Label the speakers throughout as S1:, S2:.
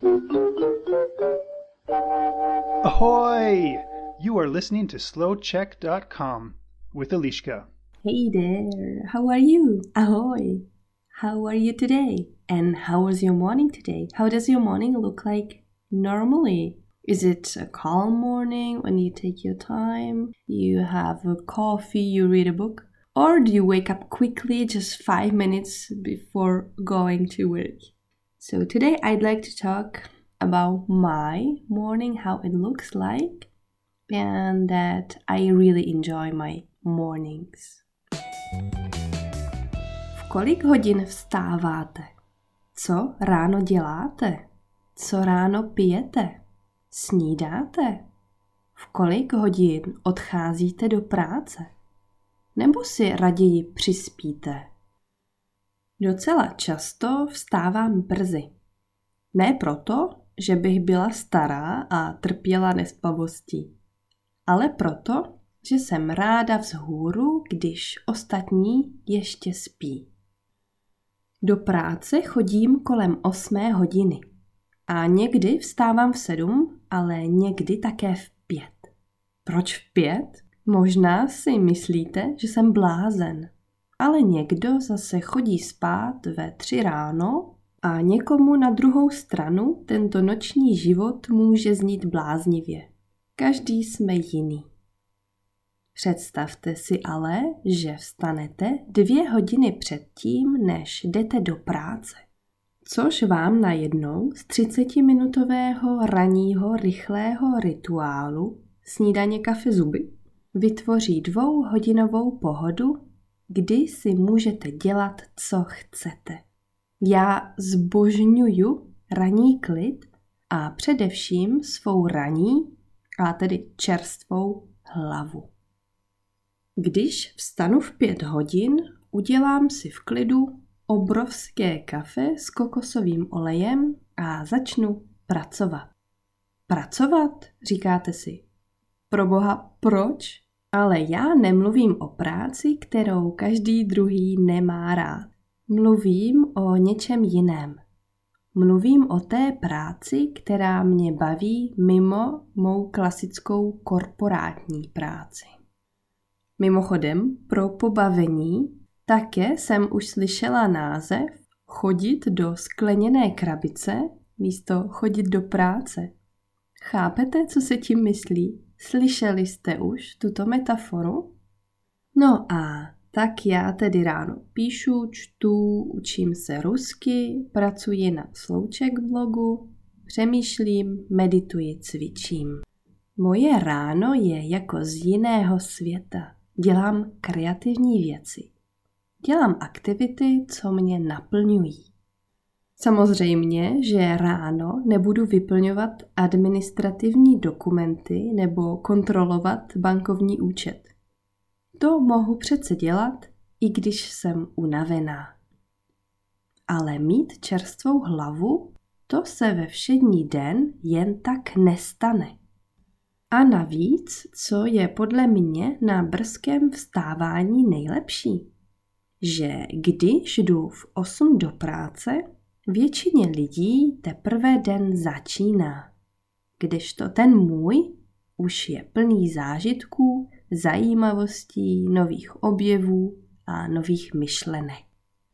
S1: Ahoy! You are listening to slowcheck.com with Eliška.
S2: Hey there, how are you? Ahoy! How are you today? And how was your morning today? How does your morning look like normally? Is it a calm morning when you take your time? You have a coffee, you read a book? Or do you wake up quickly just 5 minutes before going to work? So today I'd like to talk about my morning, how it looks like, and that I really enjoy my mornings. V kolik hodin vstáváte? Co ráno děláte? Co ráno pijete? Snídáte? V kolik hodin odcházíte do práce? Nebo si raději přispíte? Docela často vstávám brzy. Ne proto, že bych byla stará a trpěla nespavostí, ale proto, že jsem ráda vzhůru, když ostatní ještě spí. Do práce chodím kolem 8 hodiny a někdy vstávám v 7, ale někdy také v 5. Proč v 5? Možná si myslíte, že jsem blázen, ale někdo zase chodí spát ve 3 ráno a někomu na druhou stranu tento noční život může znít bláznivě. Každý jsme jiný. Představte si ale, že vstanete 2 hodiny předtím, než jdete do práce. Což vám najednou z 30-minutového ranního rychlého rituálu snídaně, kafe, zuby vytvoří 2hodinovou pohodu, kdy si můžete dělat, co chcete. Já zbožňuju ranní klid a především svou ranní, a tedy čerstvou hlavu. Když vstanu v 5 hodin, udělám si v klidu obrovské kafe s kokosovým olejem a začnu pracovat. Pracovat, říkáte si. Proboha, proč? Ale já nemluvím o práci, kterou každý druhý nemá rád. Mluvím o něčem jiném. Mluvím o té práci, která mě baví mimo mou klasickou korporátní práci. Mimochodem, pro pobavení také jsem už slyšela název chodit do skleněné krabice místo chodit do práce. Chápete, co se tím myslí? Slyšeli jste už tuto metaforu? No a tak já tedy ráno píšu, čtu, učím se rusky, pracuji na Slouček blogu, přemýšlím, medituji, cvičím. Moje ráno je jako z jiného světa. Dělám kreativní věci. Dělám aktivity, co mě naplňují. Samozřejmě, že ráno nebudu vyplňovat administrativní dokumenty nebo kontrolovat bankovní účet. To mohu přece dělat, i když jsem unavená. Ale mít čerstvou hlavu, to se ve všední den jen tak nestane. A navíc, co je podle mě na brzkém vstávání nejlepší? Že když jdu v 8 do práce, většině lidí teprve den začíná. Kdežto ten můj už je plný zážitků, zajímavostí, nových objevů a nových myšlenek.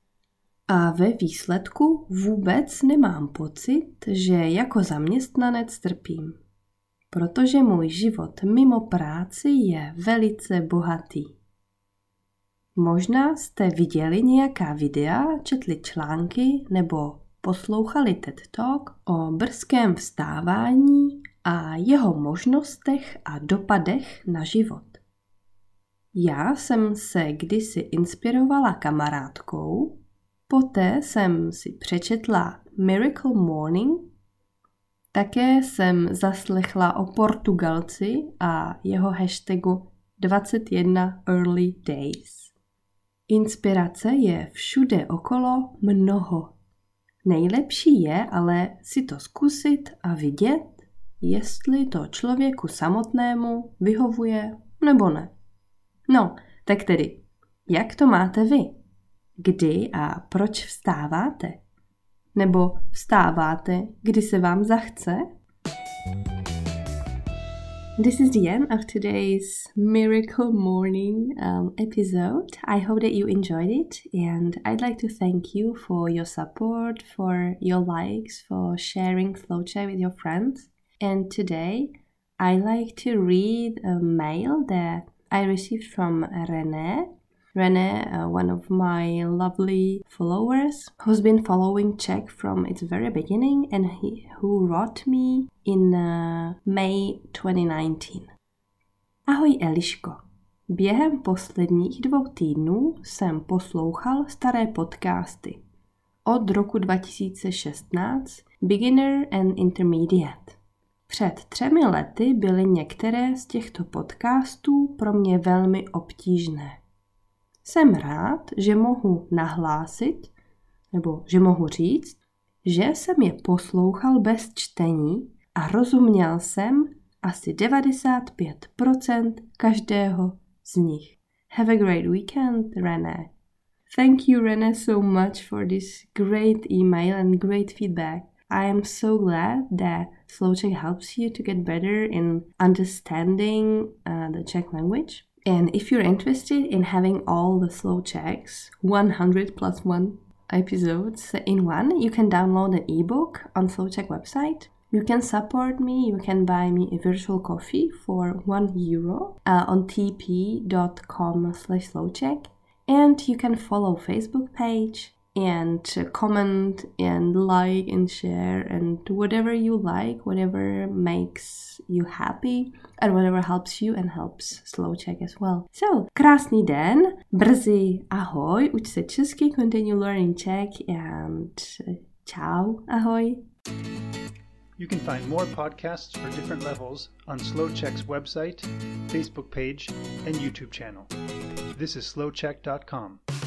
S2: A ve výsledku vůbec nemám pocit, že jako zaměstnanec trpím. Protože můj život mimo práci je velice bohatý. Možná jste viděli nějaká videa, četli články nebo poslouchali TED Talk o brzkém vstávání a jeho možnostech a dopadech na život. Já jsem se kdysi inspirovala kamarádkou, poté jsem si přečetla Miracle Morning, také jsem zaslechla o Portugalci a jeho hashtagu 21 Early Days. Inspirace je všude okolo mnoho. Nejlepší je ale si to zkusit a vidět, jestli to člověku samotnému vyhovuje nebo ne. No, tak tedy, jak to máte vy? Kdy a proč vstáváte? Nebo vstáváte, kdy se vám zachce? This is the end of today's Miracle Morning episode. I hope that you enjoyed it, and I'd like to thank you for your support, for your likes, for sharing Slow Check with your friends. And today, I like to read a mail that I received from René. René, one of my lovely followers, who's been following Czech from its very beginning and who wrote me in May 2019. Ahoj Eliško. Během posledních 2 týdnů jsem poslouchal staré podcasty. Od roku 2016 Beginner and Intermediate. Před 3 lety byly některé z těchto podcastů pro mě velmi obtížné. Jsem rád, že mohu nahlásit, nebo že mohu říct, že jsem je poslouchal bez čtení a rozuměl jsem asi 95% každého z nich. Have a great weekend, René. Thank you, René, so much for this great email and great feedback. I am so glad that Slow Czech helps you to get better in understanding the Czech language. And if you're interested in having all the Slow Czechs, 100+1 episodes in one, you can download an ebook on Slow Czech website. You can support me, you can buy me a virtual coffee for €1 on tp.com/slowczech, and you can follow Facebook page and comment and like and share and whatever you like, whatever makes you happy and whatever helps you and helps Slow Czech as well. So, krásný den, brzy ahoj, uč se česky, continue learning Czech and ciao, ahoj.
S1: You can find more podcasts for different levels on Slow Czech's website, Facebook page, and YouTube channel. This is slowcheck.com.